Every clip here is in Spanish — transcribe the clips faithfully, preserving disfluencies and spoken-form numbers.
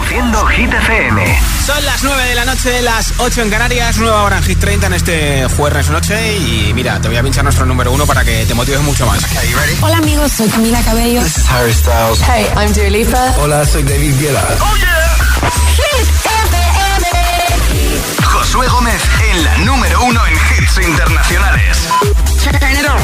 Haciendo Hit F M. Son las nueve de la noche, las ocho en Canarias, nueva hora en Hit treinta en este jueves noche. Y mira, te voy a pinchar nuestro número uno para que te motives mucho más. Okay, ready? Hola amigos, soy Camila Cabello. This is Harry Styles. Hey, I'm Dua Lipa. Hola, soy David Guetta. ¡Oh, yeah! Hit F M. Josué Gómez en la número uno en hits internacionales. Turn it on.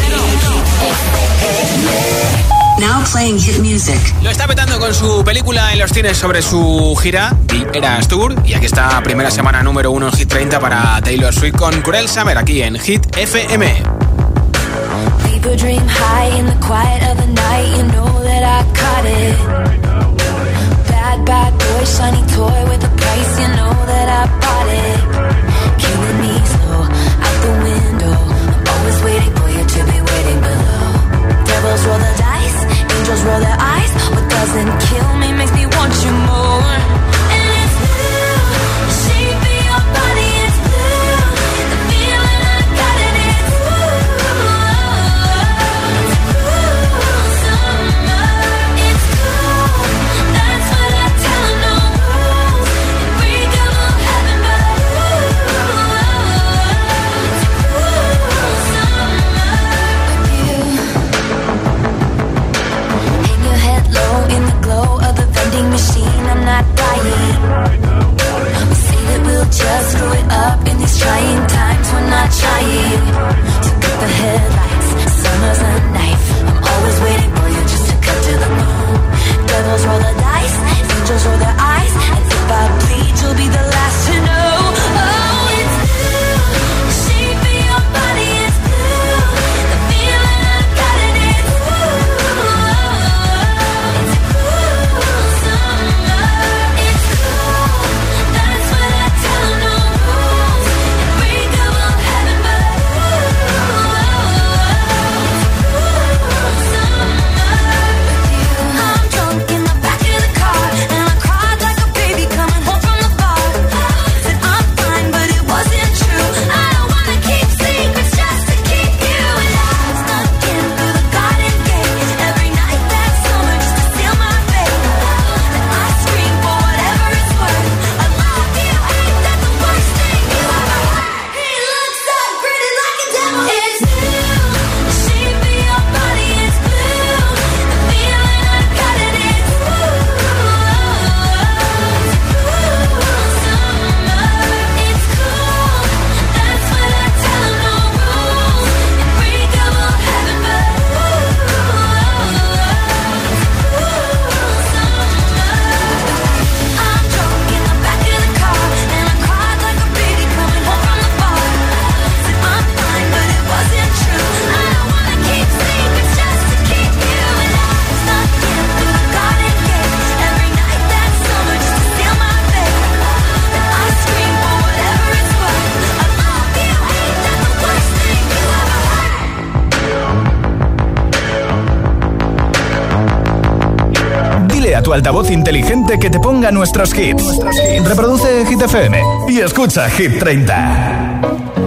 Now playing hit music. Lo está petando con su película en los cines sobre su gira, The Eras Tour. Y aquí está, primera semana número uno en Hit treinta para Taylor Swift con Cruel Summer, aquí en Hit F M. People dream high in the quiet of the night. You know that I caught it. Bad, bad boy, shiny toy with a price. You know that I bought it. Killing me slow, out the window. I'm always waiting for you to be waiting below. Devils roll the dice, angels roll their eyes. What doesn't kill me makes me want you more. And it's blue, the shape of your body is blue. The feeling I got it is blue. It's cool summer, it's cool. That's what I tell 'em, no rules. And break 'em all heaven, but ooh, it's cool summer with you. Hang your head low in the glow of the vending machine. I'm not dying. We say that we'll just screw it up in these trying times. We're not trying. So cut the headlights. Summer's a knife. I'm always waiting for you just to cut to the bone. Devils roll the dice. Angels roll their eyes. And if I bleed, you'll be the last to know. Oh, it's blue. The shape of your body is blue. The feeling I got it is blue. It's cool summer. It's cool. That's what I tell 'em, no rules. And break 'em all heaven, but ooh, it's cool summer with you. I'm drunk in the back of the car, and I cried like a baby coming home from the bar. Said I'm fine, but it wasn't true. I don't wanna keep secrets just to keep you. And I snuck in through the garden gate every night that summer just to seal my fate. And I scream for whatever it's worth. I love you, ain't that the worst thing you ever heard? He looks so pretty like a devil. It's blue, the shape of your body is blue. The feeling I got it is blue. It's cool summer, it's cool. That's what I tell 'em, no rules. And break 'em all heaven, but I'm drunk in the back of the car, and I cried like a baby coming home from the bar. Said I'm fine, but it wasn't true. I don't wanna keep secrets just to keep you. And I snuck in through the garden gate every night that summer just to seal my fate. And I scream for whatever it's worth. I love you, ain't that the worst thing you ever heard? Dile a tu altavoz inteligente que te ponga nuestros hits. Reproduce Hit F M y escucha Hit treinta.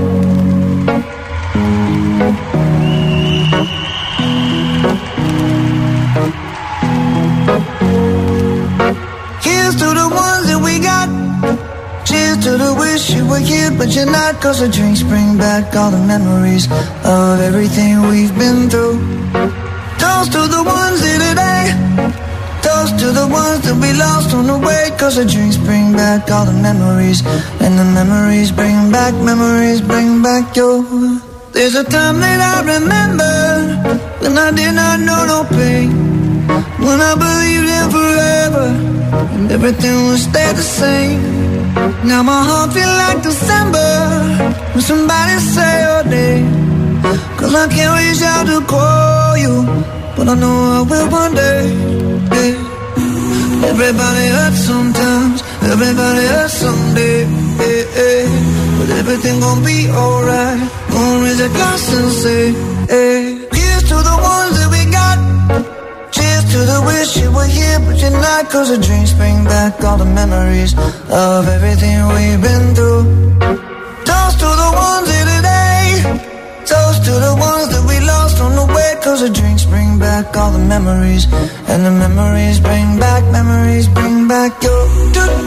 Here's to the ones that we got. Cheers to the wish you were here, but you're not. Cause the drinks bring back all the memories of everything we've been through. Toast to the ones here today. Toast to the ones that we lost on the way. Cause the drinks bring back all the memories. And the memories bring back, memories bring back your. There's a time that I remember when I did not know no pain. When I believed in forever and everything would stay the same. Now my heart feel like December when somebody say your name. Cause I can't reach out to call you, but I know I will one day. Yeah. Everybody hurts sometimes, everybody hurts someday. Yeah, yeah. But everything gon' be alright. Gonna raise a glass and say, hey. Here's to the ones that we got. Cheers to the wish you were here, but you're not. Cause the drinks bring back all the memories of everything we've been through. Toast to the ones here today. Toast to the ones that we lost on the way. Cause the drinks bring back all the memories. And the memories bring back, memories bring back your.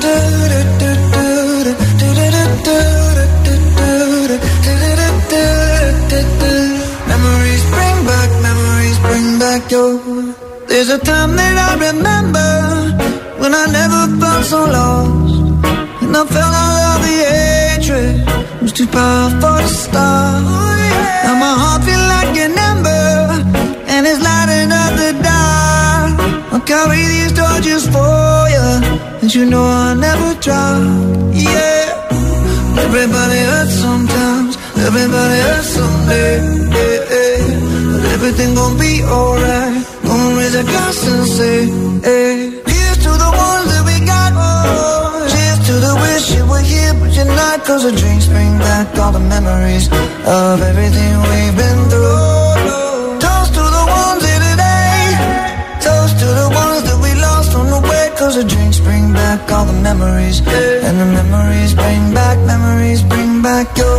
a time that I remember when I never felt so lost, and I felt all of the hatred was too powerful to stop. Oh, yeah. Now my heart feel like an ember, and it's lighting up the dark. I'll carry these torches for you, and you know I'll never drop. Yeah. Everybody hurts sometimes, everybody hurts someday. Yeah, yeah. But everything gon' be alright. Gonna raise a glass and say, hey. Here's to the ones that we got. Oh, cheers to the wish you were here, but you're not. Cause the drinks bring back all the memories of everything we've been through. Toast to the ones here today. Toast to the ones that we lost on the way. Cause the drinks bring back all the memories, and the memories bring back, memories bring back your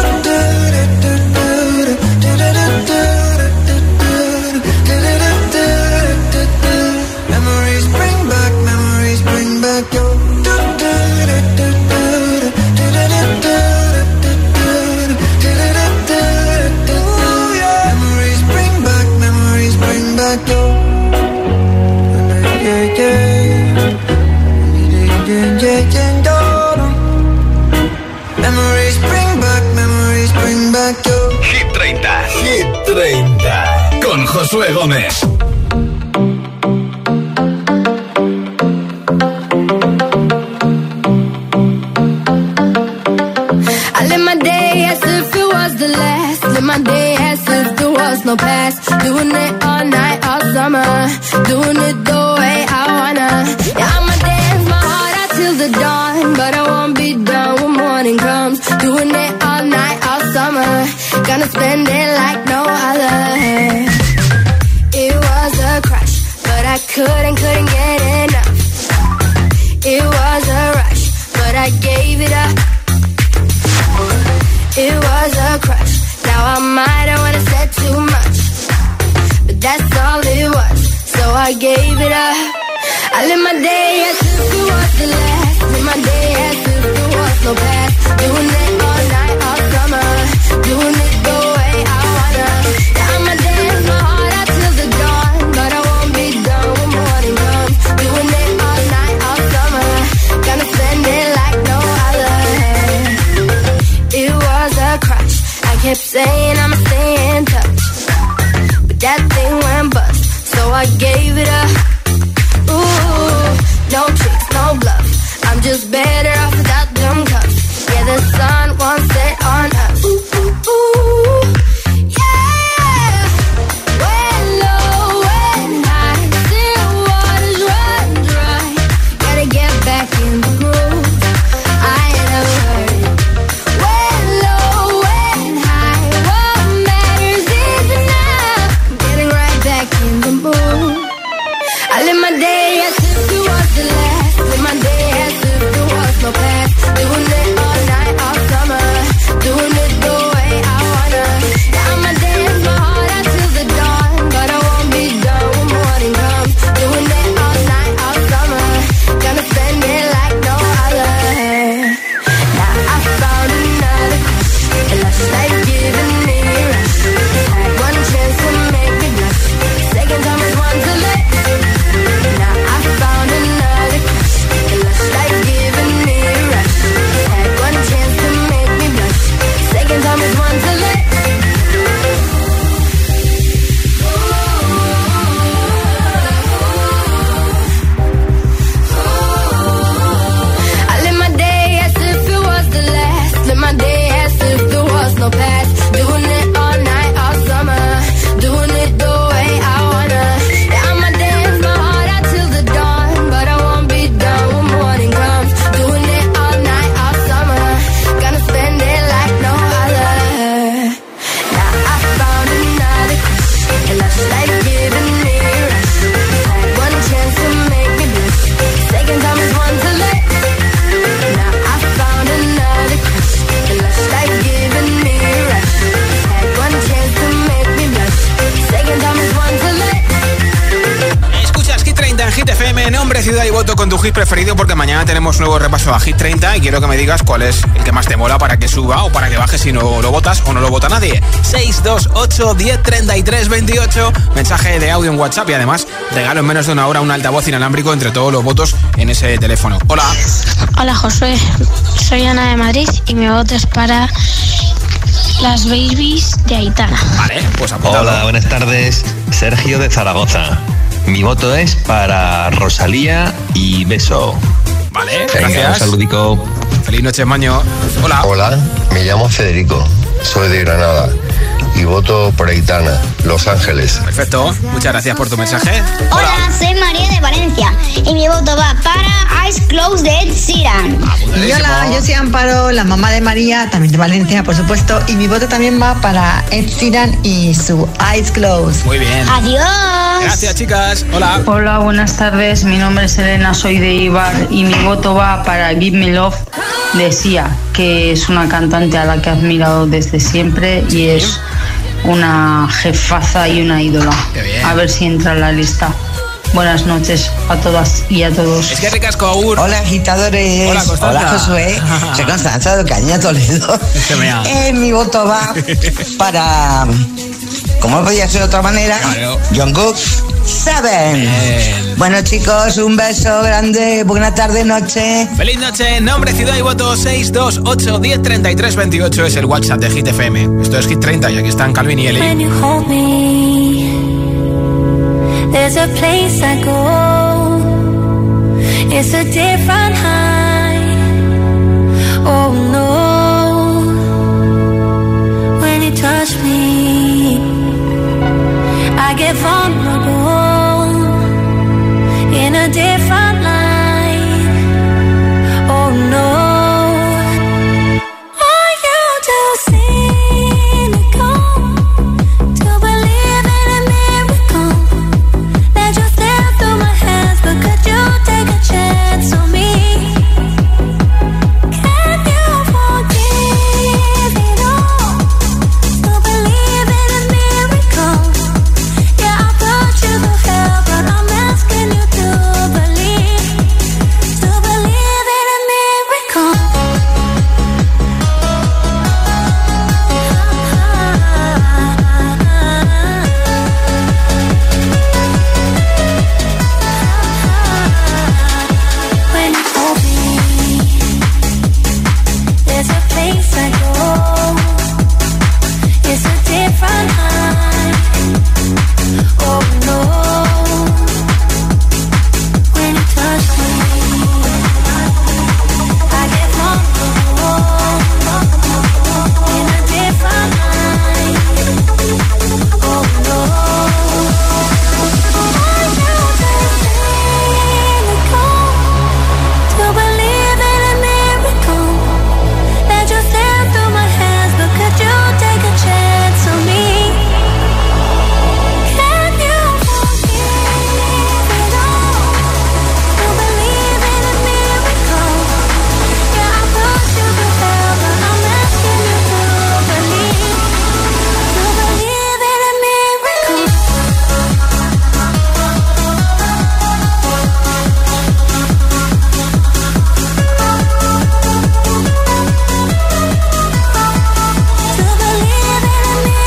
memories bring back, memories bring back your memories bring back, memories bring back your yeah, yeah. Memories bring back, memories bring back your Hit treinta. Hit treinta. Con Josué Gómez. I live my day as if it was the last. Live my day as if there was no past. Doing it all night, all summer. Doing it the way I wanna. Yeah, I'ma dance my heart out till the dawn, but I won't be done when morning comes. Doing it all night, all summer. Gonna spend it like no other. It was a crush, but I couldn't, couldn't get enough. It was a rush, but I gave it up. It was a crush. Now I might have wanna said too much, but that's all it was. So I gave it up. I live my day as if it was the last. Live my day as if there was no past. Doing it all night, all summer. Doing it the way I wanna. Yeah, I'ma dance my heart out till the dawn, but I won't be done when morning comes. Doing it all night, all summer. Gonna spend it like no other. It was a crush. I kept saying I'ma stay in touch, but that thing went bust. So I gave it up. Ooh, no tricks, no bluff. I'm just better off without them cuffs. Yeah, the sun won't set on us. Ooh, ooh, ooh, yeah. When low, when high, still waters run dry. Gotta get back in the groove. I ain't never heard it. When low, when high, what matters is enough. Getting right back in the mood. I live my day as if it was the last. Live my day as if there was no con tu hit preferido porque mañana tenemos nuevo repaso a Hit treinta y quiero que me digas cuál es el que más te mola para que suba o para que baje si no lo votas o no lo vota nadie. seis dos ocho, diez, treinta y tres, veintiocho, mensaje de audio en WhatsApp y además regalo en menos de una hora un altavoz inalámbrico entre todos los votos en ese teléfono. Hola. Hola Josué, soy Ana de Madrid y mi voto es para Las Babies de Aitana. Vale, pues apuntado. Hola, buenas tardes, Sergio de Zaragoza. Mi voto es para Rosalía y Beso. Vale, Venga, gracias. un saludico. Feliz noche, Maño. Hola. Hola, me llamo Federico, soy de Granada y voto por Aitana, Los Ángeles. Perfecto, muchas gracias por tu mensaje. Hola, soy María de Valencia y mi voto va para Eyes Closed de Ed Sheeran. Y hola, yo soy Amparo, la mamá de María, también de Valencia, por supuesto, y mi voto también va para Ed Sheeran y su Eyes Closed. Muy bien. Adiós. Gracias, chicas. Hola. Hola, buenas tardes. Mi nombre es Elena, soy de Ibar y mi voto va para Give Me Love de Sia, que es una cantante a la que he admirado desde siempre y es una jefaza y una ídola. A ver si entra en la lista. Buenas noches a todas y a todos. Es que ricasco, Agur. Hola, agitadores. Hola, Constanza. Hola, Josué. Soy Constanza de Caña, Toledo. Eh, mi voto va para, ¿cómo podía ser de otra manera? Claro. Jungkook Seven. Bien. Bueno, chicos, un beso grande. Buena tarde, noche. Feliz noche. Nombre, ciudad y voto seis dos ocho, diez, treinta y tres, veintiocho es el WhatsApp de Hit F M. Esto es Hit treinta y aquí están Calvin y Eli. When you hold me, there's a place I go. It's a different high. Oh no. When you touch me, I get vulnerable in a different light. Oh no. Are you too cynical to believe in a miracle? Let you slip through my hands, but could you take a chance on me? Can you forgive it all? To believe in a miracle? Yeah, I'll put you through hell, but I'm asking you to believe, to believe in a miracle. When you hold me, there's a place I go. It's a different high. Oh no. When you touch me, I get vulnerable in a different light. Oh no. Are you too cynical to believe in a miracle? Let you slip through my hands, but could you take a chance on me? Can you forgive it all? To believe in a miracle? Yeah, I'll put you through hell, but I'm asking you to believe, to believe in a miracle. To believe in a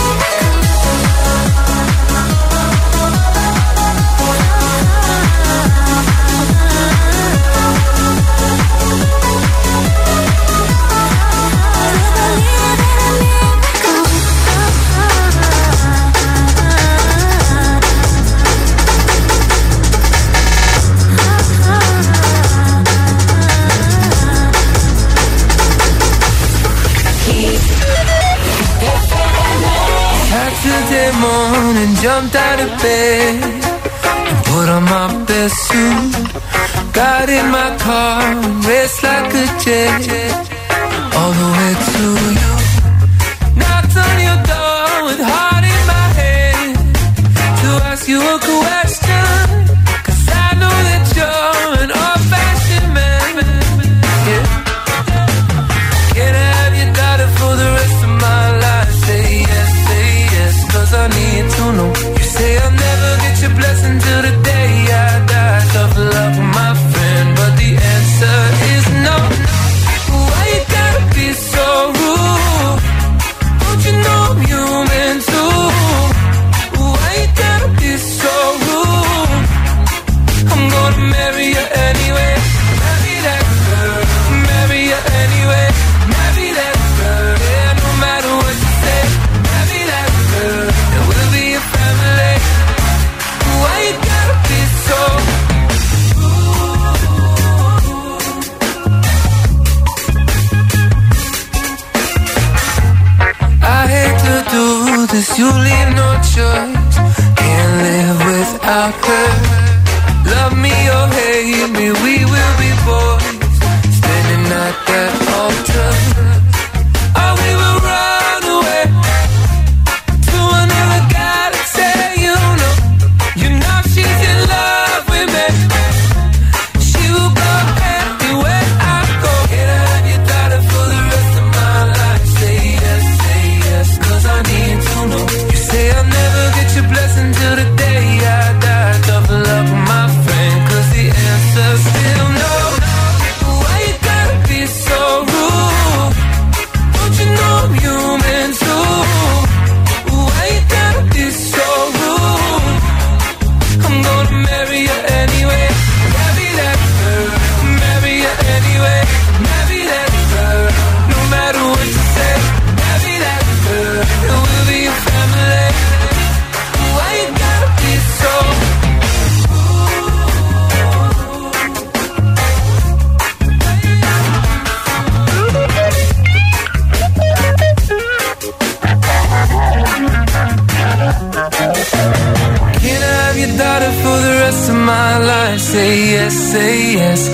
Saturday morning, jumped out of bed and put on my best suit. Got in my car and raced like a jet all the way to you. Knocked on your door with heart in my head to ask you a question, 'cause I know that you're an old-fashioned man. Yeah. Can I have your daughter for the rest of my life? Say yes, say yes, 'cause I need to know. You say I'll never get your blessing till the day I die. Tough love, my friend.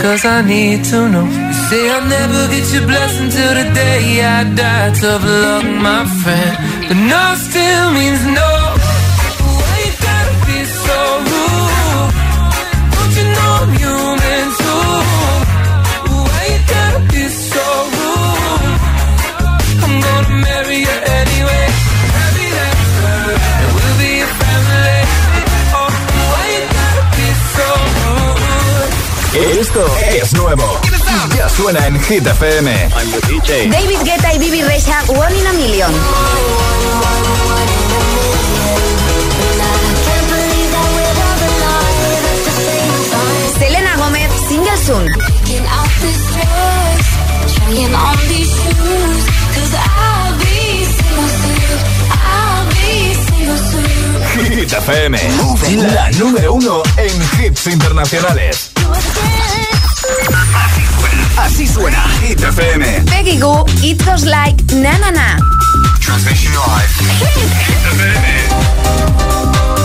cause I need to know. You say I'll never get your blessing till the day I die. Tough luck, my friend, but no still means no. Why you gotta be so rude? Don't you know I'm human too? Why you gotta be so rude? I'm gonna marry you anyway. Marry that girl, and we'll be a family. Oh, why you gotta be so rude? Esto es nuevo. Ya suena en Hit F M. I'm the D J. David Guetta y Bibi Rexha, One in a Million. Selena Gomez, Single Soon. Hit F M, la número uno en hits internacionales. Así suena Hit F M. Peggy Goo, It Goes Like Na Na Na. Transmission live. Hit F M.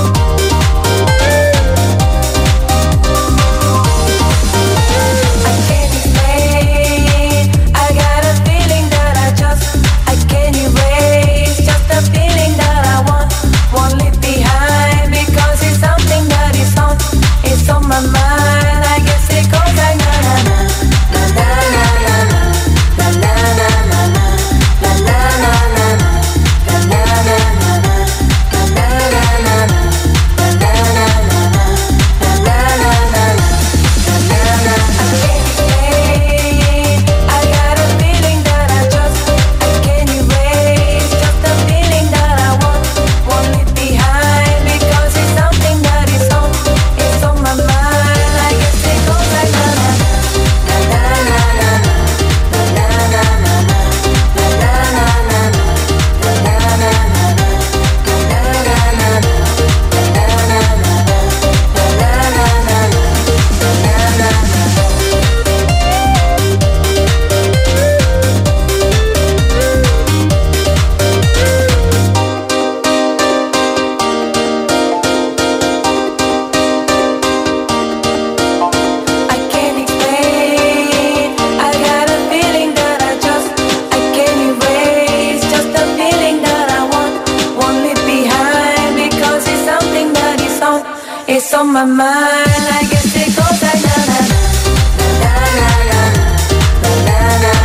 On my mind, I guess it goes like na na na na na na na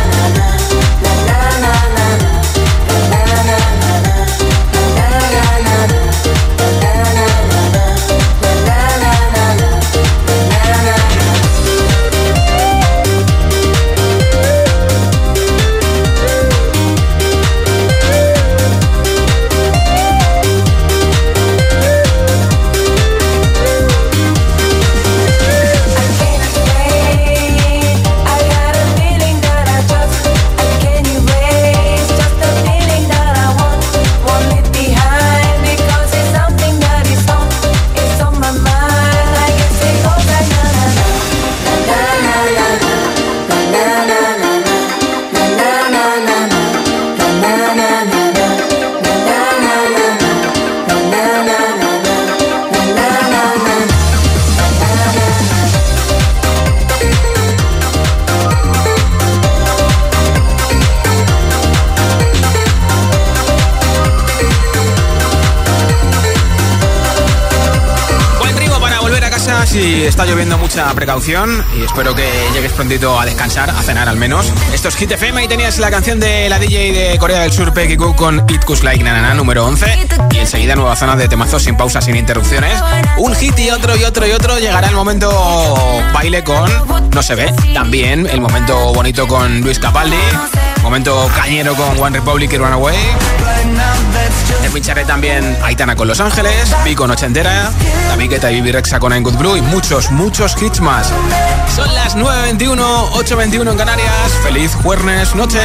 Si está lloviendo, mucha precaución y espero que llegues prontito a descansar, a cenar al menos. Esto es Hit F M y tenías la canción de la D J de Corea del Sur, Peggy Goo, con It Goes Like Na Na Na, número once. Y enseguida nueva zona de temazos sin pausas, sin interrupciones. Un hit y otro y otro y otro. Llegará el momento baile con No Se Ve. También el momento bonito con Luis Capaldi. Momento cañero con One Republic y Runaway. Te pincharé también Aitana con Los Ángeles, Vico Noche Entera, David Guetta y Bibi Rexha con I'm Good Blue y muchos, muchos hits más. Son las nueve veintiuno, ocho veintiuno en Canarias. Feliz jueves noche.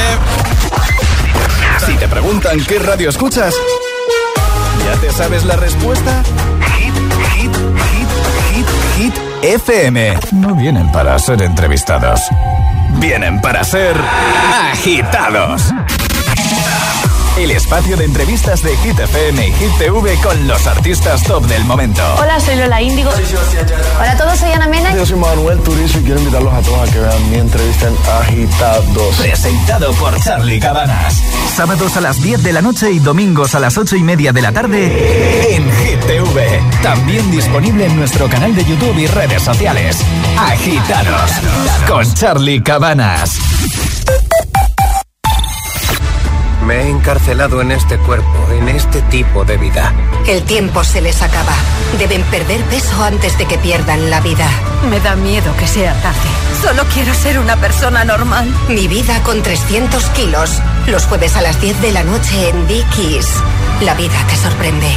Si te preguntan qué radio escuchas, ¿ya te sabes la respuesta? Hit, hit, hit, hit, hit F M. No vienen para ser entrevistados, vienen para ser agitados. el espacio de entrevistas de Hit F M y Hit T V con los artistas top del momento. Hola, soy Lola Índigo. Hola a todos, soy Ana Mena. Yo soy Manuel Turizo y quiero invitarlos a todos a que vean mi entrevista en Agitados. Presentado por Charly Cabanas. Sábados a las diez de la noche y domingos a las ocho y media de la tarde en Hit T V. También disponible en nuestro canal de YouTube y redes sociales. Agitados con Charly Cabanas. Me he encarcelado en este cuerpo, en este tipo de vida. El tiempo se les acaba. Deben perder peso antes de que pierdan la vida. Me da miedo que sea tarde. Solo quiero ser una persona normal. Mi vida con trescientos kilos. Los jueves a las diez de la noche en Dickies. La vida te sorprende.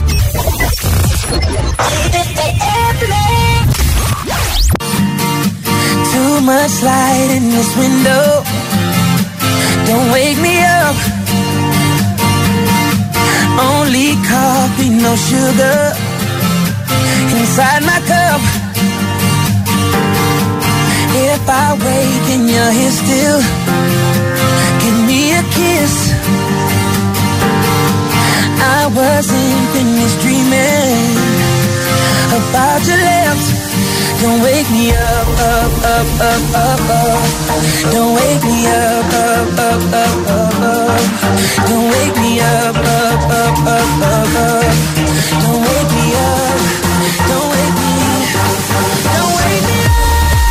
Too much light in this window. Don't wake me up. Only coffee, no sugar inside my cup. If I wake and you're here still, give me a kiss. I wasn't finished dreaming about your lips. Don't wake me up, up, up, up, up, up. Don't wake me up, up, up, up, up, up. Don't wake me up, up, up, up, up, up. Don't wake me up, don't wake me, don't wake me up.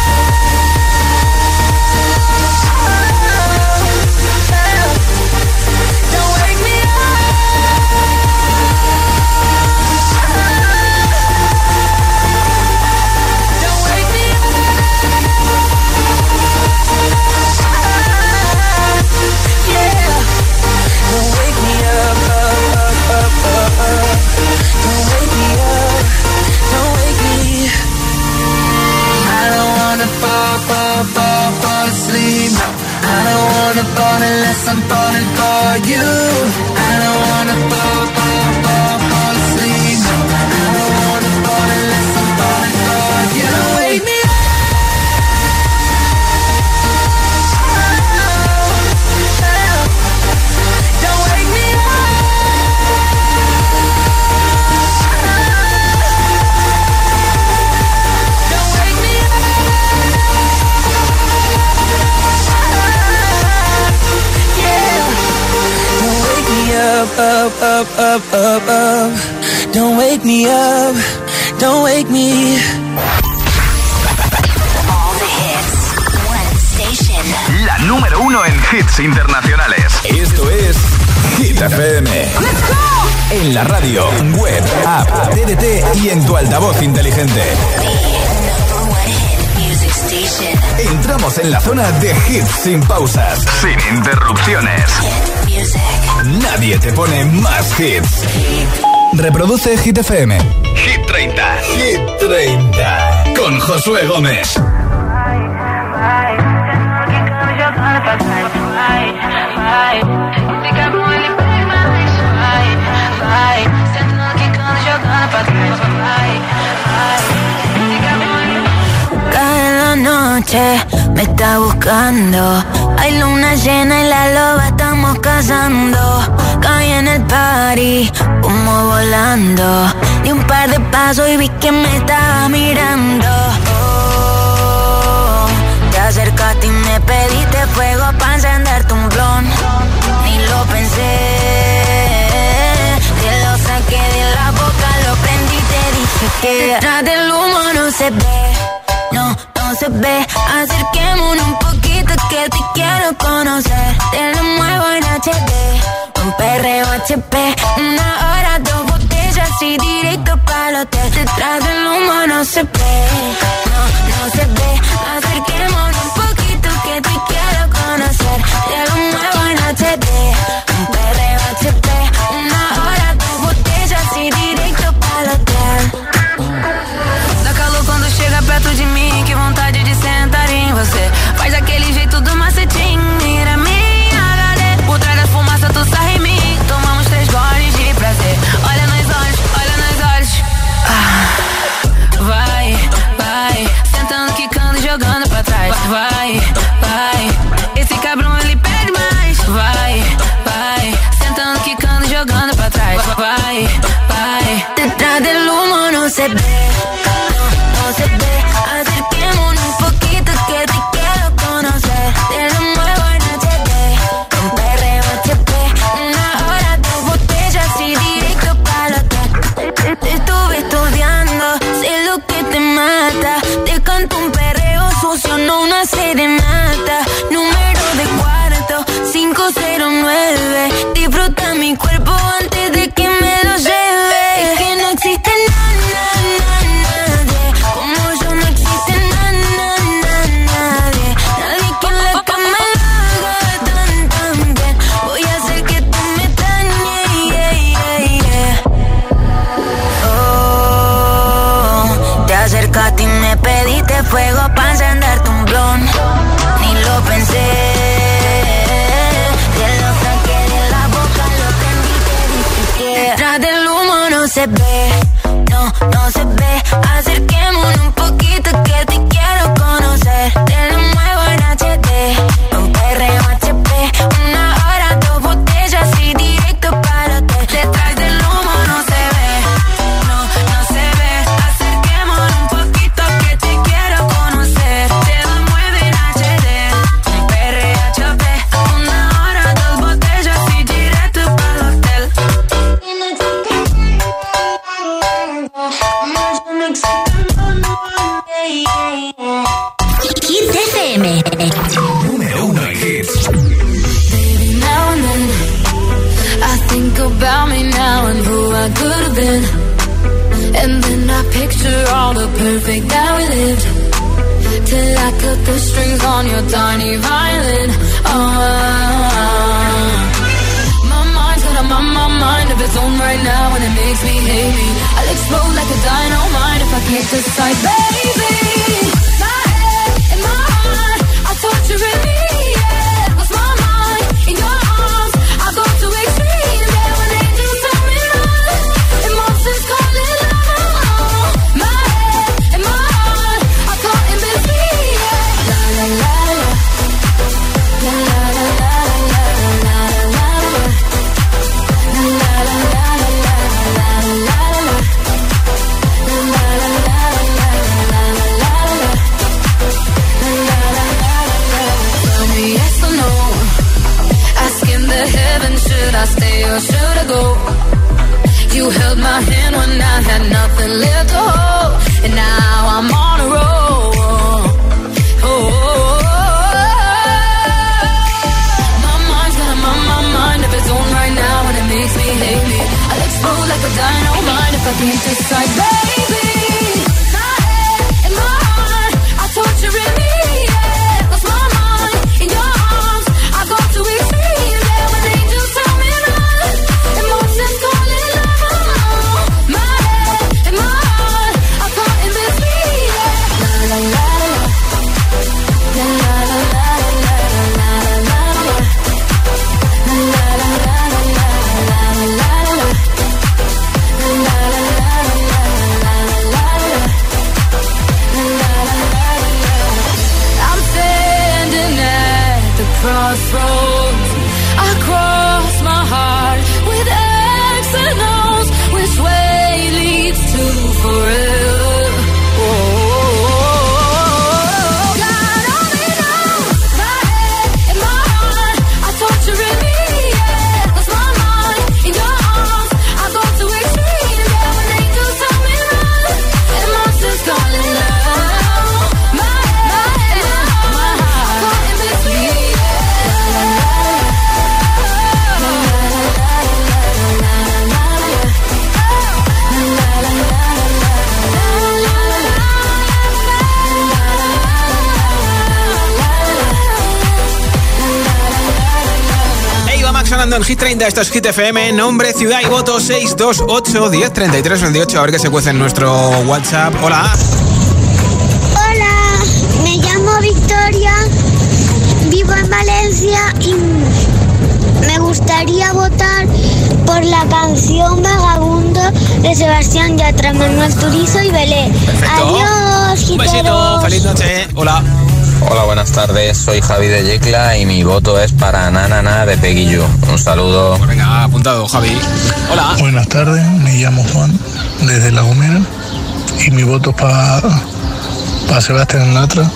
Unless I'm falling for you, I don't wanna fall, fall, fall, fall asleep. I don't wanna fall unless I'm falling for you. Don't wake me up. Don't wake me up. Don't wake me up. Up, up, up, up, up, up. Don't wake me up, don't wake me. All the hits, one station. La número uno en hits internacionales. Esto es Hit F M. Let's go. En la radio, web, app, T D T y en tu altavoz inteligente. Entramos en la zona de hits sin pausas, sin interrupciones. Nadie te pone más hits. Reproduce Hit F M. Hit treinta. Hit treinta. Con Josué Gómez. Cada noche me está buscando. Hay luna llena y la loba estamos cazando. Caí en el party, humo volando. Di un par de pasos y vi que me estaba mirando. Oh, te acercaste y me pediste fuego pa' encenderte un blon. Ni lo pensé, te lo saqué de la boca, lo prendí y te dije que detrás del humo no se ve. No, no se ve. Acerquémonos un poquito que te quiero conocer. Te lo muevo en H D, un perreo H P. Una hora, dos botellas y directo pa'l hotel. Detrás del humo no se ve. No, no se ve. Acerquémonos un poquito que te quiero conocer. Te lo muevo en H D, un perreo H P. Una hora, dos botellas y directo pa'l hotel. Dá calor quando chega perto de mim, que vontade de sentar em você. Faz aquele jeito do macetinho, mira minha H D. Por trás da fumaça tu sarra em mim, tomamos três goles de prazer. Olha nos olhos, olha nos olhos. Ah, vai, vai, sentando, quicando, jogando pra trás. Vai, vai, esse cabrão ele pede mais. Vai, vai, sentando. bye, bye. Detrás del humo no se ve, no, no se ve. Acerquémonos un poquito que te quiero conocer. Te lo muevo en H D, con perreo H P. Una hora, dos botellas y directo para el hotel. Te, te estuve estudiando, sé lo que te mata. Te canto un perreo sucio, no una serenata. Número de cuarto, cinco cero nueve. Disfruta mi cuerpo antes de que me lo lleve. Es que no existe nada, nadie como yo, no existe nada, nadie. Nadie que en la cama lo haga tan, tan bien. Voy a hacer que tú me extrañes, yeah, yeah, yeah. Oh, te acercaste y me pediste fuego para encenderte un blon. Ni lo pensé. Detrás del humo no se ve, no, no se ve. Acerquémonos un poquito que te quiero conocer. Te lo muevo en H D, con perreo H P. Una hora, dos botellas y directo para hotel. Detrás del humo no se ve, no, no se ve. Acerquémonos un poquito que te quiero conocer. Te lo muevo en H D, con perreo H P. Una hora, dos botellas y directo para hotel. Hit F M. Número uno en hits. Baby, now and then I think about me now and who I could have been. And then I picture all the perfect that we lived. Till I cut the strings on your tiny violin. Oh, my mind's got a my, my mind of its own right now, and it makes me hate me. I'll explode like a dynamite if I can't decide, baby. My head and my heart are torturing me. Yeah, 'cause my mind in your arms, I go to extreme. Yeah, when angels tell me love, emotions call it love. My head and my heart are caught in between. Yeah, la la la la, la la la la la la la la la. La la la la la la la la la. Tell me yes or no. Asking the heavens, should I stay or should I go? You held my hand when I had nothing left to hold, and now I'm on a roll. Oh, my mind's got a my, my mind of its own right now, and it makes me hate me. I'll explode like a dynamite if I can't decide, baby. My head and my heart are torturing me. Yeah, 'cause my mind in your arms, I go to extreme. Yeah, when angels tell me love, emotions call it love. My head and my heart are caught in between. Yeah, la la la la, la la la la la la la la, la la la la la la la la. I'm standing at the crossroads. I cross my heart with X and O's. Which way leads to forever? Oh, God only knows. My head and my heart are torturing me. Yeah, 'cause my mind in your arms, I go to extreme. Yeah, when angels tell me love, and monsters calling love. My head, my heart, my heart, are caught in between. La la la la, la la la la la la, la la la la Eva Max sonando en Hit treinta, esto es Hit F M, nombre, ciudad y voto seis dos ocho, diez, treinta y tres, veintiocho. A ver qué se cuece en nuestro WhatsApp. Hola. Hola, me llamo Victoria, vivo en Valencia y me gustaría votar por la canción Vagabundo de Sebastián Yatra, Manuel Turizo y Belé. Perfecto. Adiós, Un besito, giteros. feliz noche. Hola. Hola, buenas tardes, soy Javi de Yecla y mi voto es para Nanana de Peggy Gou. Un saludo. Pues venga, apuntado, Javi. Hola. Buenas tardes, me llamo Juan desde La Gomera y mi voto es para pa Sebastián Yatra,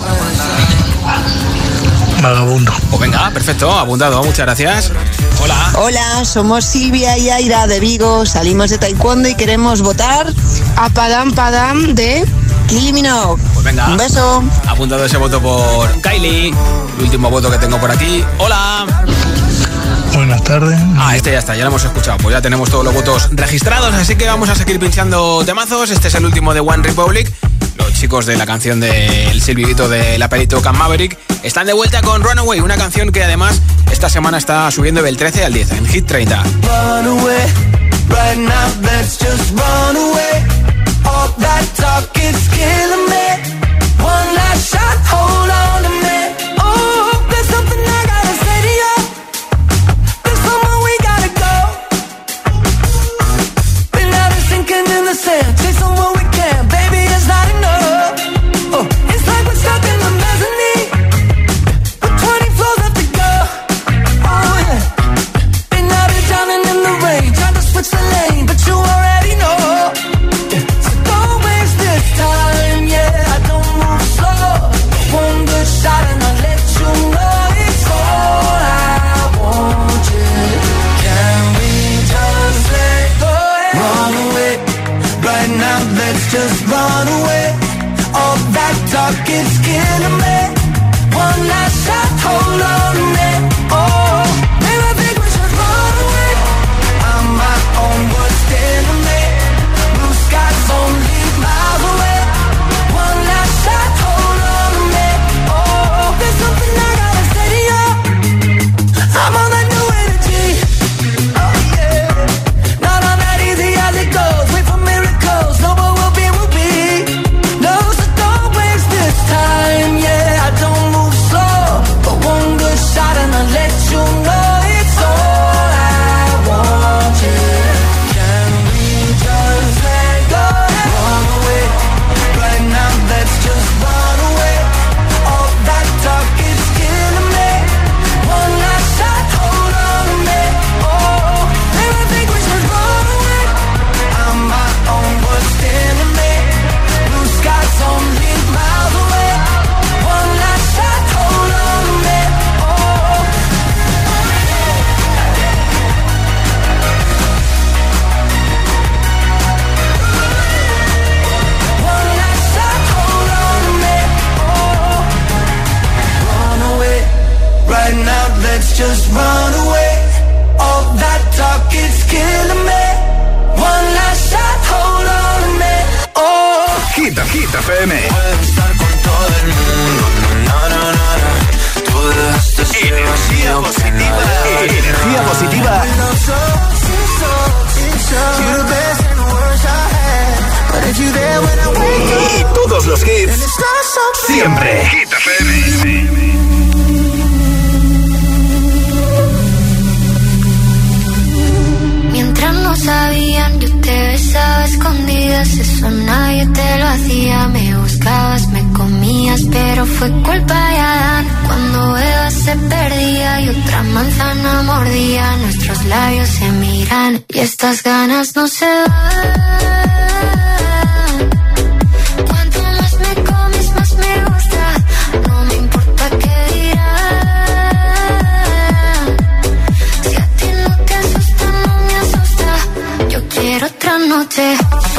Vagabundo. Pues venga, perfecto, apuntado, muchas gracias. Hola. Hola, somos Silvia y Aira de Vigo, salimos de taekwondo y queremos votar a Padam Padam de Kylie Minogue. Pues venga. Un beso. Apuntado ese voto por Kylie. El último voto que tengo por aquí. Hola. Buenas tardes. Ah, este ya está, ya lo hemos escuchado. Pues ya tenemos todos los votos registrados, así que vamos a seguir pinchando temazos. Este es el último de One Republic. Los chicos de la canción del silbidito de la peli Top Gun Maverick están de vuelta con Runaway, una canción que además esta semana está subiendo del trece al diez en Hit treinta. Runaway, right now let's just run away. All that talk is killing me. One last shot, hold on to me. Oh, there's something I gotta say to you. There's somewhere we gotta go. Been out and sinking in the sand, chasing what we can. Baby, it's not enough. Oh, it's like we're stuck in the mezzanine with twenty floors left to go. Oh yeah. Been out here drowning in the rain, trying to switch the lane, but you already know. Time, yeah, I don't move slow. One good shot and I'll let you know it's all I want you. Can we just let go and run away? Right now, let's just run away. All that talk is killing me. One last shot, hold on to me. Oh, maybe I think we should run away. I'm my own worst enemy. Blue skies only miles away. I'm on that new energy. Oh yeah. Not on that easy as it goes. Wait for miracles. No, what will be, will be. No, so don't waste this time. Yeah, I don't move slow. But one good shot and I'll let you know it's all I want. Yeah. Can we just let go and run away? Right now, let's just run away. All that talk is killing me. One last shot, hold on to me. Oh, maybe I think we should run away. I'm my own worst enemy. Blue skies only miles away. One last shot, hold on to me. Oh. One last shot, hold on to me. Oh. Run away. Right now, let's just run away. All that talk is killing me. One last shot, hold on to me. Oh. Hit, Hit F M. Puedes estar con todo el mundo. No, no, no, no. Tú dejaste ser energía positiva. Energía positiva. Y todos los hits. Siempre. Hit F M. Mientras no sabían, yo te besaba a escondidas. Eso nadie te lo hacía. Me buscabas, me comías, pero fue culpa de Adán. Cuando Eva se perdía y otra manzana mordía, nuestros labios se miran y estas ganas no se van. Cuanto más me comes, más me gusta. No me importa qué dirán. Si a ti no te asusta, no me asusta. Yo quiero otra noche.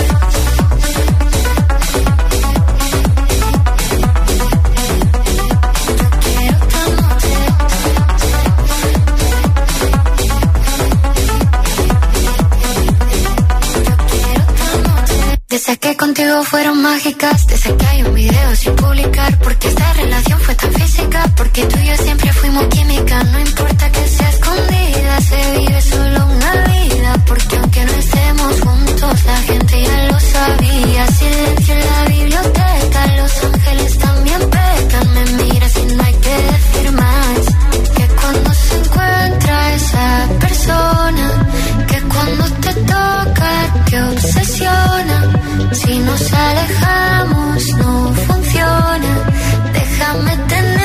Desde que contigo fueron mágicas, desde que hay un video sin publicar, porque esta relación fue tan física, porque tú y yo siempre fuimos química. No importa que sea escondida, se vive solo una vida, porque aunque no estemos juntos, la gente ya lo sabía. Silencio en la biblioteca, los ángeles también pecan. Me miras y no hay que decir más, que cuando se encuentra esa persona, que cuando te toca te obsesiona. Si nos alejamos no funciona, déjame tener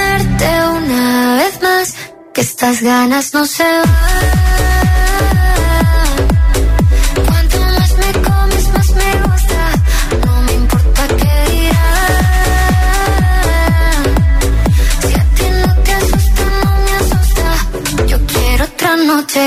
que estas ganas no se van. Cuanto más me comes, más me gusta. No me importa qué dirán. Si a ti no te asusta, no me asusta. Yo quiero otra noche.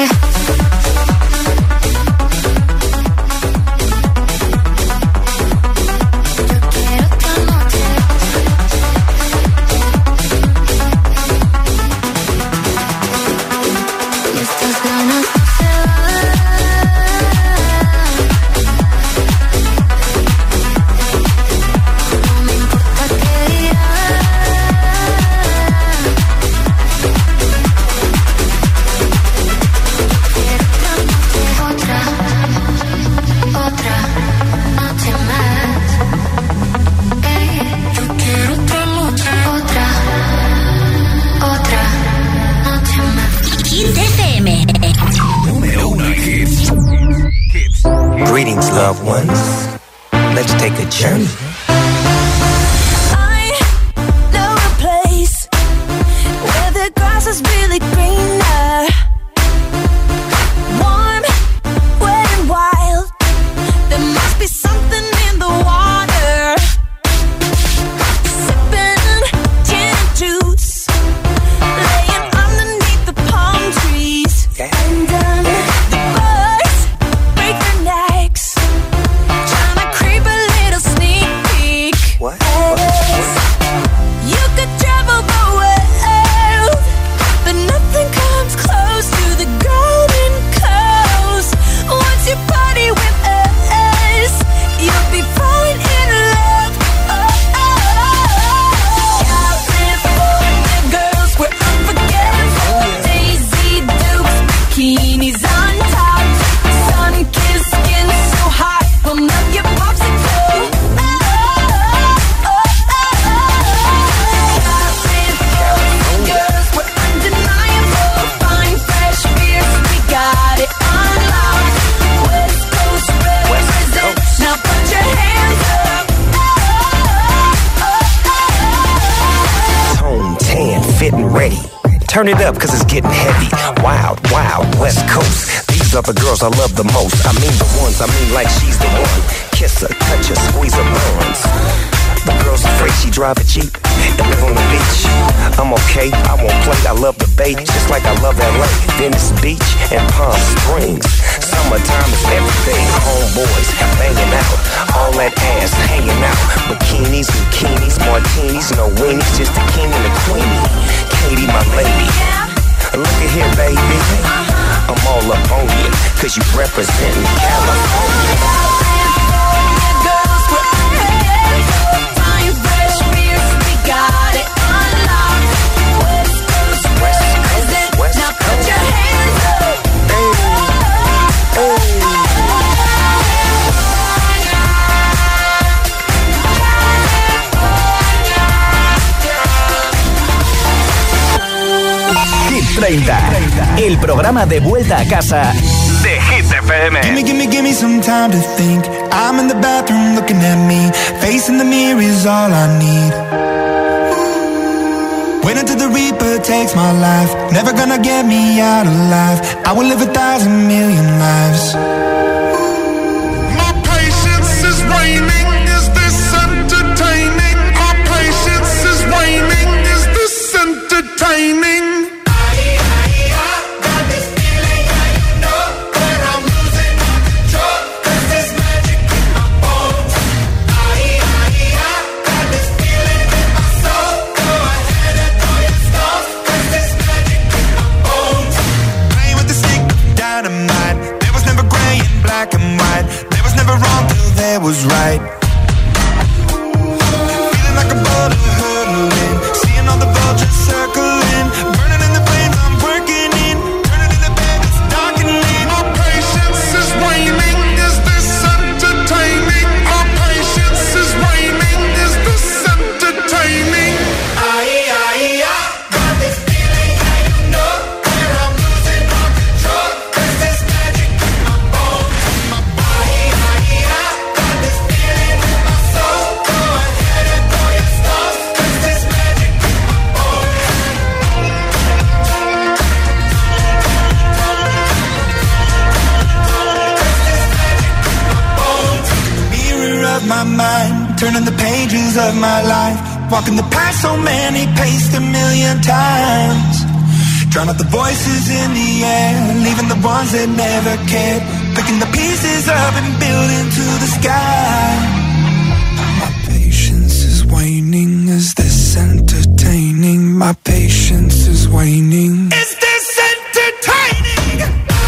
Greetings, loved ones. Let's take a journey. I know a place where the grass is really greener. Warm, wet and wild. There must be something in the water. Sipping gin and juice, laying underneath the palm trees. And um, the birds break their necks, trying to creep a little sneak peek. What? You could travel the world, but nothing comes close to the Golden Coast. Once you party with us, you'll be falling in love. Oh, oh, oh. California girls, we're unforgettable. Daisy Dukes, bikinis on top, sun-kissed skin so hot, we'll melt your popsicle. Oh, oh, oh, oh, oh. California girls, we're undeniable. Fine, fresh beers, we got it on lock. West Coast represent, now put your hands up. Oh, oh, oh, oh. Tone tan, fit and ready. Turn it up, cause it's getting heavy. Wild, wild, West Coast. These are the girls I love the most. I mean the ones, I mean like she's the one. Kiss her, touch her, squeeze her bones. The girl's afraid she drive a Jeep and live on the beach. I'm okay, I won't play, I love the bay, just like I love L A, Venice Beach and Palm Springs. Summertime is everything, homeboys banging out, all that ass hanging out. Bikinis, bikinis, martinis, no weenies, just the king and the queenie. Katie, my lady, look at here, baby, I'm all up on you, cause you representing California. Got it unlocked. West Coast represent. Now put your hands up. Hit treinta, el programa de vuelta a casa de Hit F M. Gimme, gimme, gimme some time to think. I'm in the bathroom looking at me. Facing the mirror is all I need. Wait until the Reaper takes my life. Never gonna get me out alive. I will live a thousand million lives. My patience is waning. Is this entertaining? Our patience is waning. Is this entertaining? There was right. Feeling like a boulder hurtling, seeing all the vultures circling. mind, turning the pages of my life, walking the path so many paced a million times. Drown out the voices in the air, leaving the ones that never cared, picking the pieces up and building to the sky. My patience is waning, is this entertaining? My patience is waning. Is this entertaining?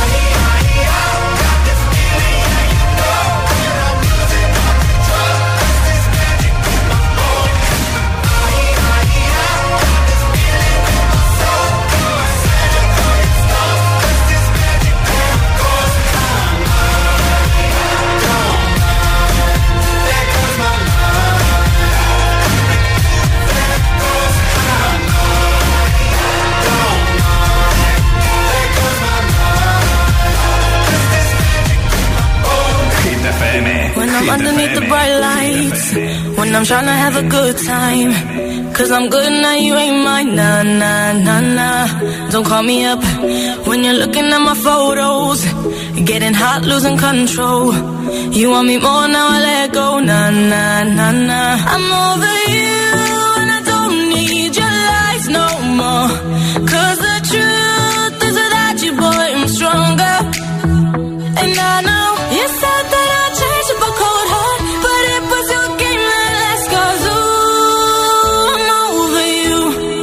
When I'm underneath the bright lights, when I'm trying to have a good time, cause I'm good now, you ain't mine, nah, nah, nah, nah. Don't call me up when you're looking at my photos, getting hot, losing control. You want me more, now I let go, nah, nah, nah, nah. I'm over you and I don't need your lies no more, cause the truth is without you, boy, I'm stronger. And I know you said that I'd change up a cold heart, but it was your game that last, cause ooh, I'm over you.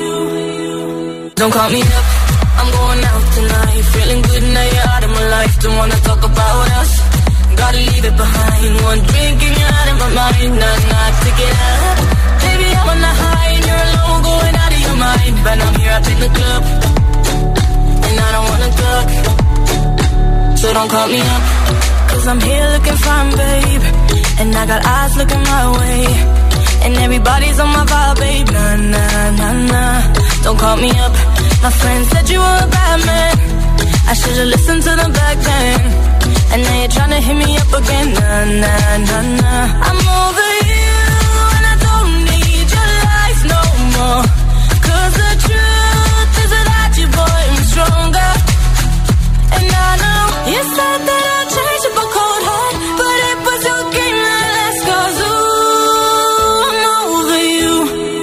Don't call me up, I'm going out tonight, feeling good now you're out of my life. Don't wanna talk about us, gotta leave it behind. One drink and you're out of my mind, nah, nah, take it out. Baby, I'm on the high and you're alone, going out of your mind. But I'm here up in the club, and I don't wanna talk, so don't call me up, cause I'm here looking fine, babe, and I got eyes looking my way, and everybody's on my vibe, babe, nah, nah, nah, nah. Don't call me up, my friend said you were a bad man, I should've listened to them back then, and now you're tryna hit me up again, nah, nah, nah, nah. I'm over you, and I don't need your lies no more, cause the truth is without you, boy, I'm stronger. And I know you said that I'd change up a cold heart, but it was your game that last, cause ooh, I'm over you.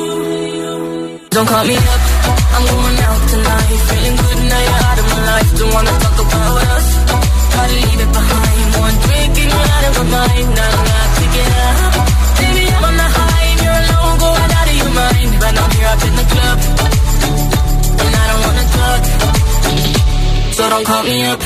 Don't call me up, I'm going out tonight, feeling good now you're out of my life. Don't wanna talk about us, gotta leave it behind. One drink and you're out of my mind, now I'm not to get up. Baby, I'm on the high and you're alone, going out of your mind. But I'm here up in the club, and I don't wanna talk, so don't call me up.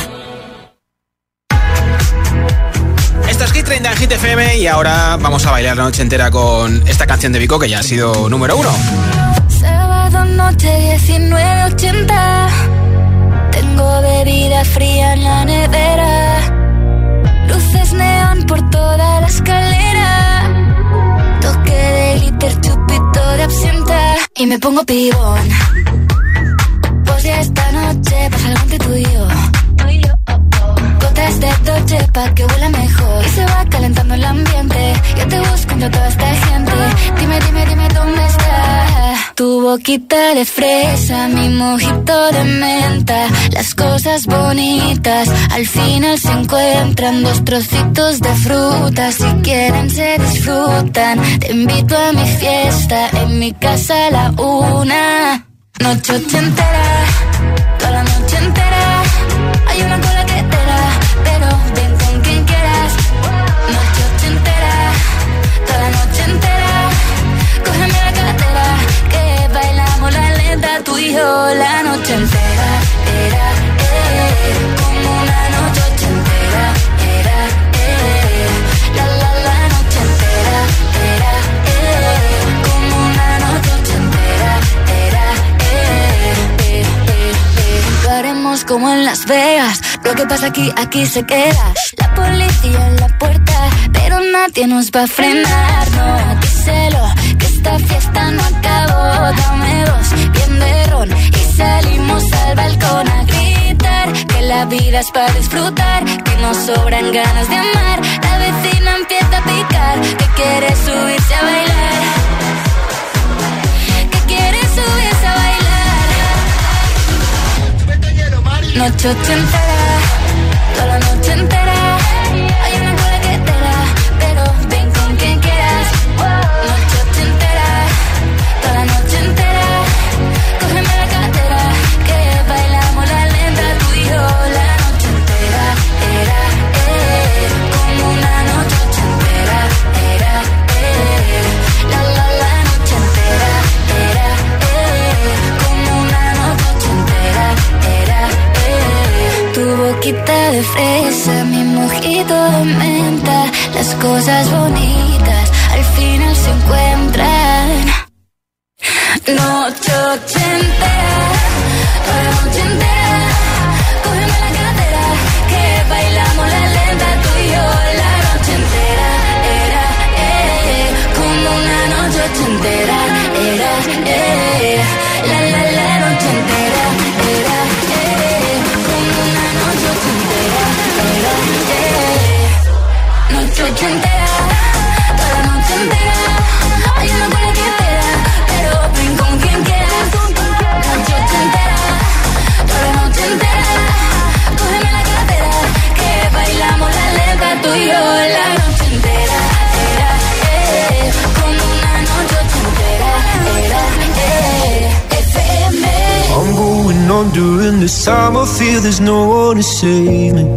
Esto es Hit treinta en Hit F M y ahora vamos a bailar la noche entera con esta canción de Vico que ya ha sido número uno. Sábado noche diecinueve ochenta, tengo bebida fría en la nevera, luces neón por toda la escalera, toque de glitter, chupito de absenta y me pongo pibón. Pues ya esta noche pasa algo entre tú y yo, gotas de Dolce pa' que huela mejor y se va calentando el ambiente. Yo te busco entre toda esta gente, dime, dime, dime dónde está tu boquita de fresa, mi mojito de menta. Las cosas bonitas al final se encuentran, dos trocitos de fruta, si quieren se disfrutan. Te invito a mi fiesta, en mi casa a la una. Noche ochentera, toda la noche entera, hay una cola que te da, pero ven con quien quieras. Noche ochentera, toda la noche entera, cógeme la cartera, que bailamos la lenta, tú y yo la noche entera. Era, eh, como una noche ochentera, era, eh, la la la noche entera, era, eh, como una noche ochentera, era, eh, eh, eh, eh. Lo haremos como en Las Vegas, lo que pasa aquí, aquí se queda. La policía en la puerta, pero nadie nos va a frenar, no, díselo, que esta fiesta no acabó. Dame dos, bien de ron, y salimos al balcón a gritar, que la vida es para disfrutar, que nos sobran ganas de amar. La vecina empieza a picar, que quiere subirse a bailar, que quiere subirse a bailar. Noche ochentera, toda la noche entera, hay una cola que te da, pero ven con quien quieras. de fresa, mi mojito de menta. Las cosas bonitas al final se encuentran. Noche ochentera, toda la noche entera. Cógeme la cadera, que bailamos la lenta tú y yo. La noche entera, era, eh, como una noche ochentera. Era, eh, la, la, la noche entera. Era, eh, como una noche ochentera. Era, eh, noche ochentera, toda la noche entera. Hay una buena que espera, pero ven con quien quieras. Noche ochentera, toda la noche entera. Cógeme la cadera, que bailamos la lenta tú y yo. La noche entera, era, eh, como una noche ochentera. Era, eh, F M. I'm going on during this time. I feel there's no one to save me.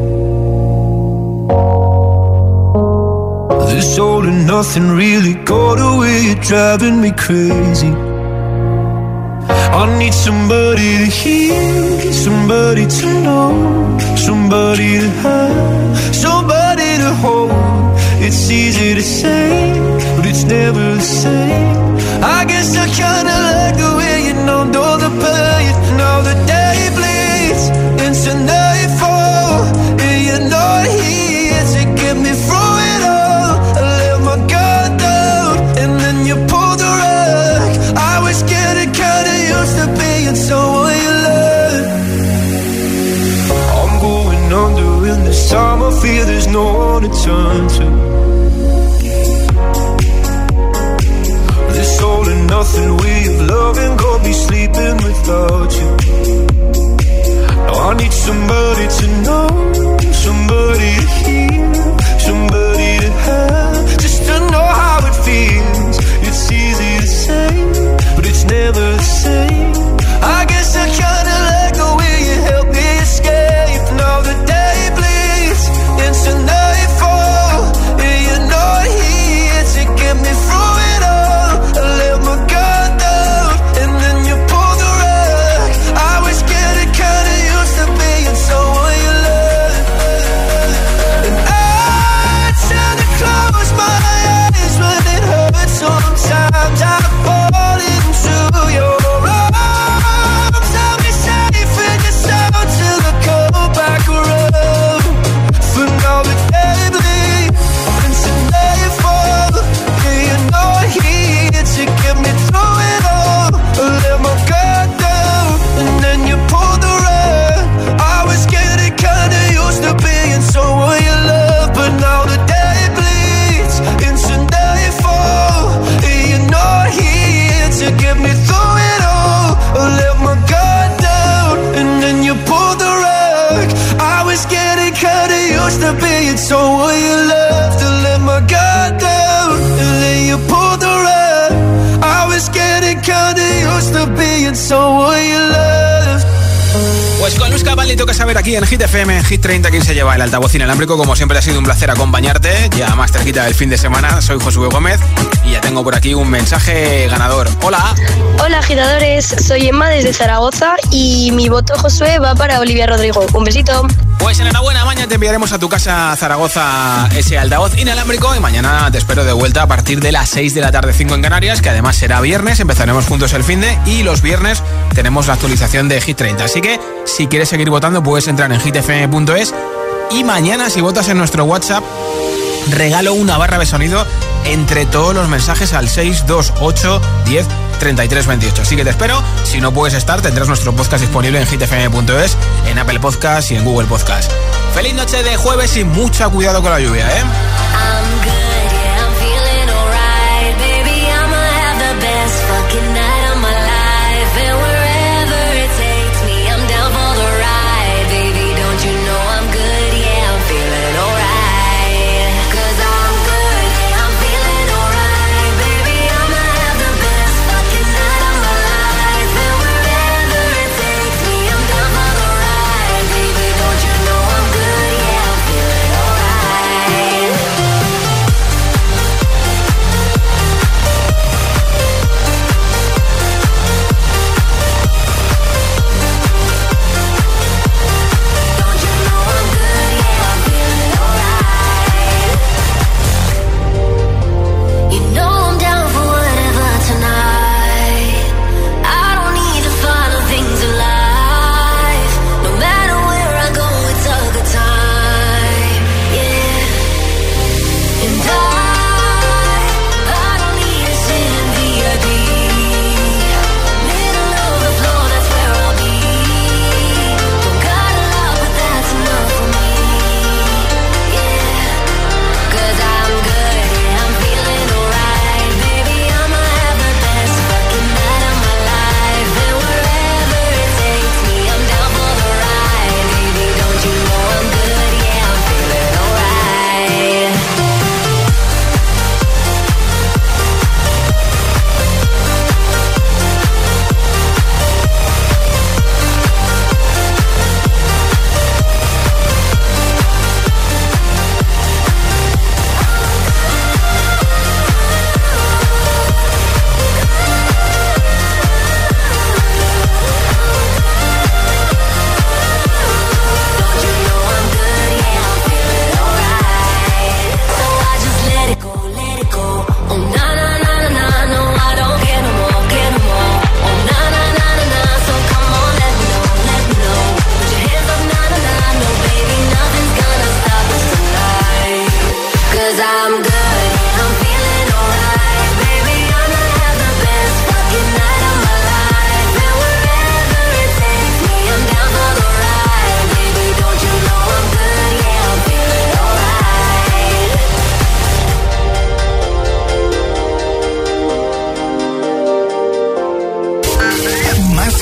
This all and nothing really got away. You're driving me crazy. I need somebody to hear, somebody to know, somebody to have, somebody to hold. It's easy to say, but it's never the same. I guess I kinda like the way you know, know the pain. Now the day bleeds into nightfall, and you're not here to get me through it all. I let my guard down, and then you pulled the rug. I was getting kinda used to being someone you love. I'm going under in this time. I feel there's no one to turn to. This all and nothing way of loving got me sleeping without you. Now I need somebody to know, somebody to hear, somebody to have, just to know how it feels. It's easy to say, but it's never the same. I guess I kinda like the way you help me escape. Now the day bleeds into nightfall, and you're not here to get me through it all. I let my guard down, and then you pulled the rug. I was getting kinda used to being someone you love. And I tend to close my eyes when it hurts. Sometimes I fall into your arms. I'll be safe in your sound till I come back around. For now the day bleeds into nightfall, and you're not here to get me through it all. I let my guard down, and then you pulled the rug. I was getting kinda used to being someone you love, but now the day bleeds into nightfall, and you're not here to get me through it all. I let my guard down, and then you pulled the rug. I was getting kinda used to being someone you loved. To let my guard down, and then you pulled the rug. I was getting kinda used to being someone you loved. Pues con Luz Capaldi toca saber aquí en Hit F M, en Hit treinta, quién se lleva el altavoz inalámbrico. Como siempre ha sido un placer acompañarte, ya más cerquita del fin de semana. Soy Josué Gómez y ya tengo por aquí un mensaje ganador. Hola. Hola agitadores, soy Emma desde Zaragoza y mi voto, Josué, va para Olivia Rodrigo. Un besito. Pues enhorabuena, mañana te enviaremos a tu casa Zaragoza ese altavoz inalámbrico y mañana te espero de vuelta a partir de las seis de la tarde, cinco en Canarias, que además será viernes, empezaremos juntos el finde y los viernes tenemos la actualización de Hit treinta. Así que si quieres seguir votando puedes entrar en hit f m punto es y mañana si votas en nuestro WhatsApp regalo una barra de sonido entre todos los mensajes al seis dos ocho diez treinta y tres veintiocho. Así que te espero. Si no puedes estar, tendrás nuestro podcast disponible en hit f m punto es, en Apple Podcast y en Google Podcast. Feliz noche de jueves y mucho cuidado con la lluvia, ¿eh?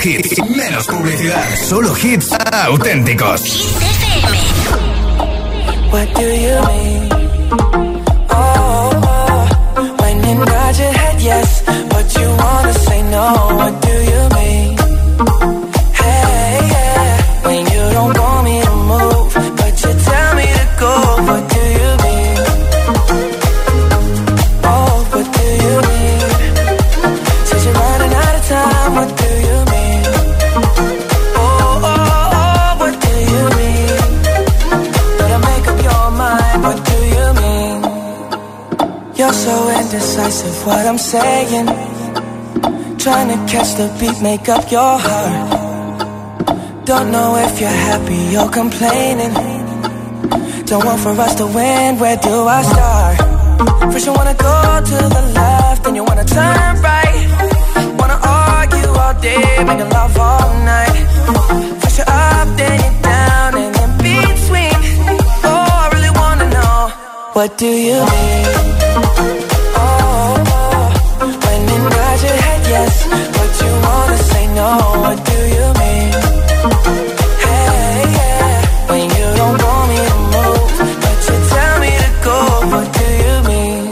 hits, menos publicidad, solo hits auténticos. Hit F M. What do you mean? Oh, oh, when you nod your head yes, but you wanna say no. What do you mean? Hey, yeah, when you don't want me to move, but you tell me to go. What do you mean? Oh, what do you mean? Says you're running out of time. What do you mean? Oh, oh, oh, what do you mean? Better make up your mind. What do you mean? You're so indecisive. What I'm saying. Trying to catch the beat, make up your heart. Don't know if you're happy or complaining. Don't want for us to win, where do I start? First you wanna go to the left, then you wanna turn right. Wanna argue all day, making love all night. First you're up, then you're down, and in between. Oh, I really wanna know, what do you mean? Oh, oh, when you nod your head yes, but you wanna say no. What do you mean? Hey, yeah, when you don't want me to move, but you tell me to go. What do you mean?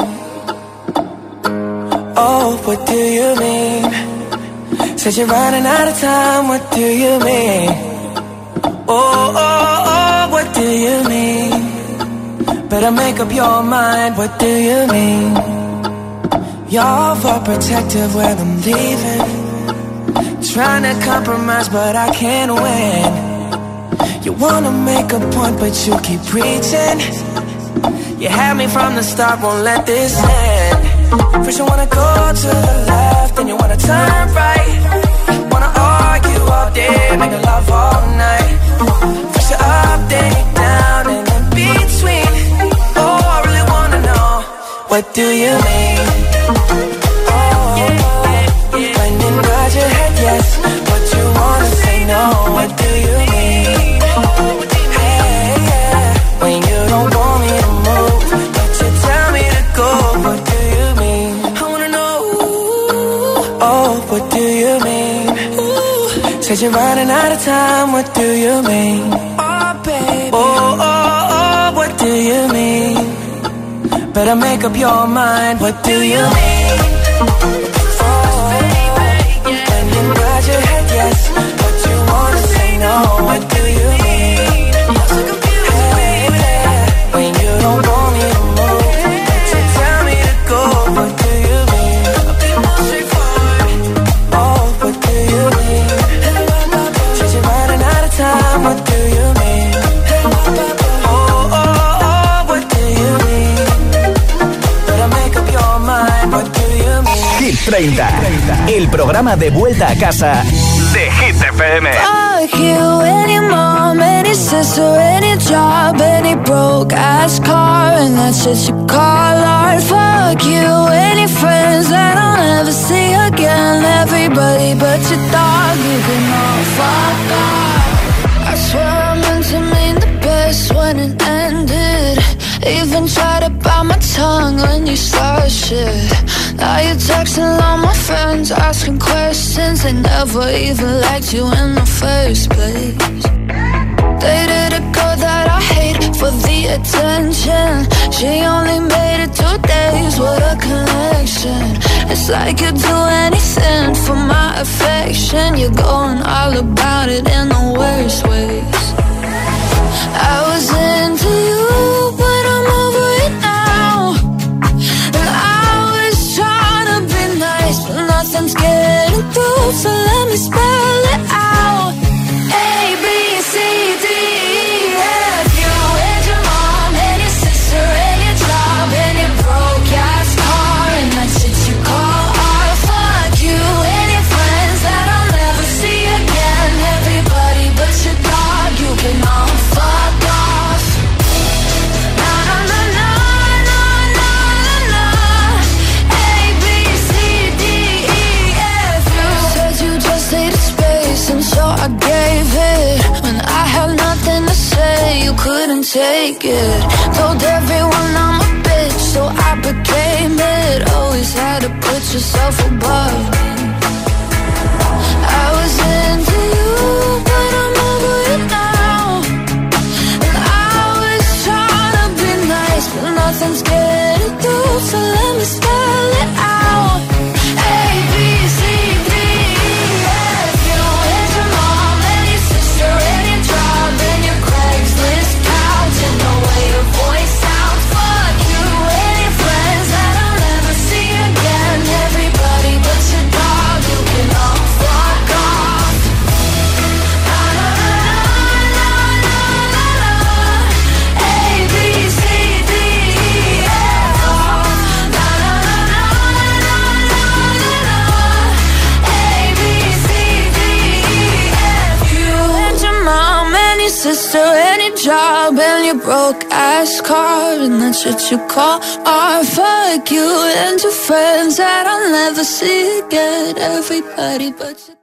Oh, what do you mean? Said you're running out of time. What do you mean? Oh, oh, oh, what do you mean? Better make up your mind. What do you mean? You're overprotective when I'm leaving. Trying to compromise, but I can't win. You wanna make a point, but you keep preaching. You had me from the start, won't let this end. First you wanna go to the left, then you wanna turn right. Wanna argue all day, making love all night. First you're up, then you're down, and in between. Oh, I really wanna know, what do you mean? Oh, when you nod your head yes, but you wanna say no. What do you mean? Hey, yeah, when you don't want me to move, but you tell me to go. What do you mean? I wanna know. Oh, what do you mean? Said you're running out of time. What do you mean? Oh, baby. Oh, oh, oh, what do you mean? Better make up your mind. What do you mean? Your head yes, but you wanna say no. What do you mean? I'm so confused, hey, yeah, when you don't want me to move, but you tell me to go. What do you mean? A bit more straightforward. Oh, what do you mean? Said you're running out of time. What do you mean? Oh, oh, oh, what do you mean? Better make up your mind. What do you mean? Hit treinta, el programa de vuelta a casa de Hit F M. Fuck you, any mom, any sister, any job, any broke ass car, and that's just you call art. Fuck you, any friends that I'll never see again, everybody but your dog, you can all fuck off. I swear I meant to mean the best when it ended. Even tried to bite my tongue when you start shit. Now you're texting all my friends, asking questions. They never even liked you in the first place. Dated a girl that I hate for the attention. She only made it two days, what a connection. It's like you'd do anything for my affection. You're going all about it in the worst ways. I was into you, but I'm over it now. And I was trying to be nice, but nothing's getting through, so let me spell it out. A, B, C, D, E, F, you and your mom, and your sister, and your job, and your broke ass car, and that shit you call art. Fuck you and your friends that I'll never see again, everybody but your dog, you can all fuck off. Na na na na na na na. A, B, C, D, E, F, you said you just needed space, and so I gave it. When I had nothing to say, you couldn't take it. Told everyone I'm a bitch, so I became it. Always had to put yourself above me. I was in sister, any job, and your broke ass car, and that's what you call art. Fuck you and your friends that I'll never see again. Everybody but you.